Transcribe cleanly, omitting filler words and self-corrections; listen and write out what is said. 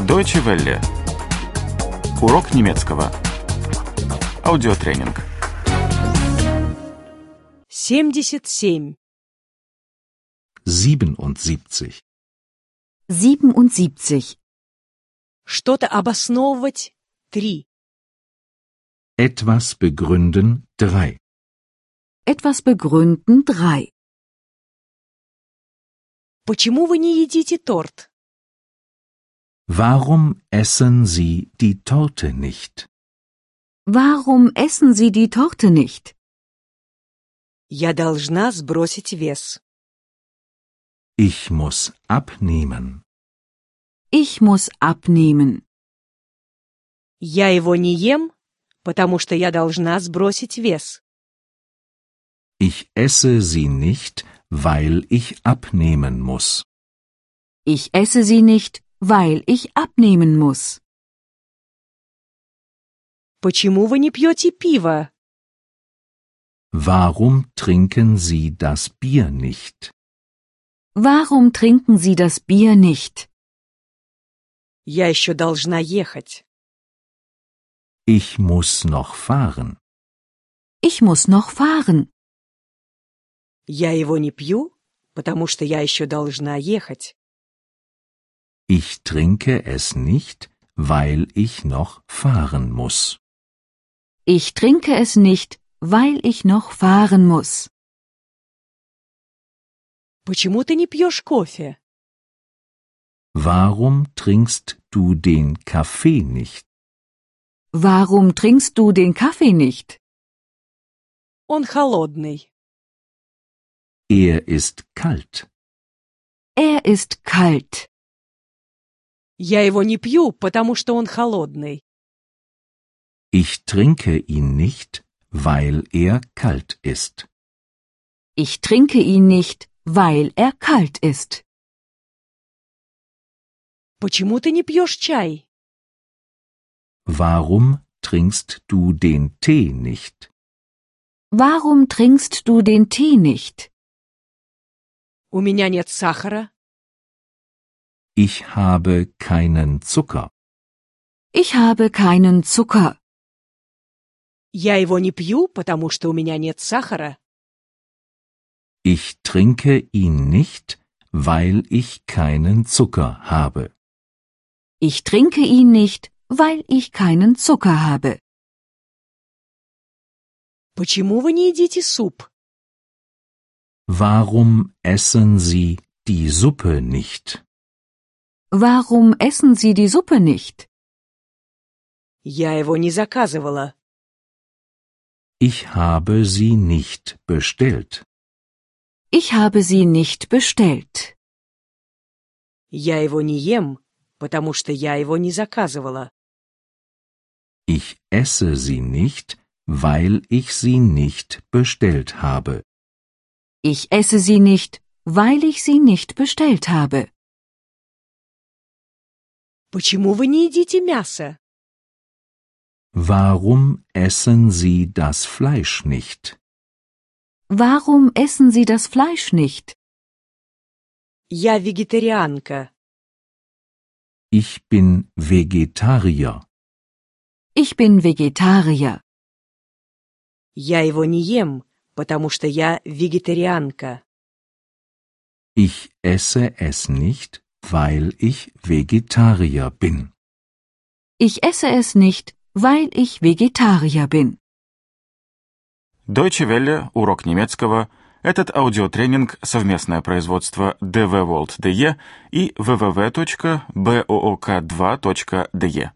Deutsche Welle. Урок немецкого. Аудиотренинг. 77. 77. 77. Что-то обосновывать. 3. Etwas begründen 3. Etwas begründen 3. Почему вы не едите торт? Warum essen Sie die Torte nicht? Warum essen Sie die Torte nicht? Я должна сбросить вес. Ich muss abnehmen. Ich muss abnehmen. Я его не ем, потому что я должна сбросить вес. Ich esse sie nicht, weil ich abnehmen muss. Ich esse sie nicht, weil ich abnehmen muss. Почему вы не пьете пиво? Warum trinken Sie das Bier nicht? Warum trinken Sie das Bier nicht? Я еще должна ехать. Ich muss noch fahren. Ich muss noch fahren. Я его не пью, потому что я еще должна ехать. Ich trinke es nicht, weil ich noch fahren muss. Ich trinke es nicht, weil ich noch fahren muss. Почему ты не пьешь кофе? Warum trinkst du den Kaffee nicht? Warum trinkst du den Kaffee nicht? Он холодный. Er ist kalt. Er ist kalt. Я его не пью, потому что он холодный. Ich trinke ihn nicht, weil er kalt ist. Ich trinke ihn nicht, weil er kalt ist. Почему ты не пьешь чай? Warum trinkst du den Tee nicht? Warum trinkst du den Tee nicht? У меня нет сахара. Ich habe keinen Zucker. Ich habe keinen Zucker. Я его не пью, потому что у меня нет сахара. Ich trinke ihn nicht, weil ich keinen Zucker habe. Ich trinke ihn nicht, weil ich keinen Zucker habe. Почему вы не едите суп? Warum essen Sie die Suppe nicht? Warum essen Sie die Suppe nicht? Я его не заказывала. Ich habe sie nicht bestellt. Ich habe sie nicht bestellt. Я его не ем, потому что я его не заказывала. Ich esse sie nicht, weil ich sie nicht bestellt habe. Ich esse sie nicht, weil ich sie nicht bestellt habe. Почему вы не едите мясо? Warum essen Sie das Fleisch nicht? Warum essen Sie das Fleisch nicht? Я вегетарианка. Ich bin Vegetarier. Ich bin Vegetarier. Я его не ем, потому что я вегетарианка. Ich esse es nicht, weil ich Vegetarier bin. Ich esse es nicht, weil ich Vegetarier bin. Deutsche Welle. Урок немецкого. Этот аудиотренинг – совместное производство dvworld.de и www.book2.de.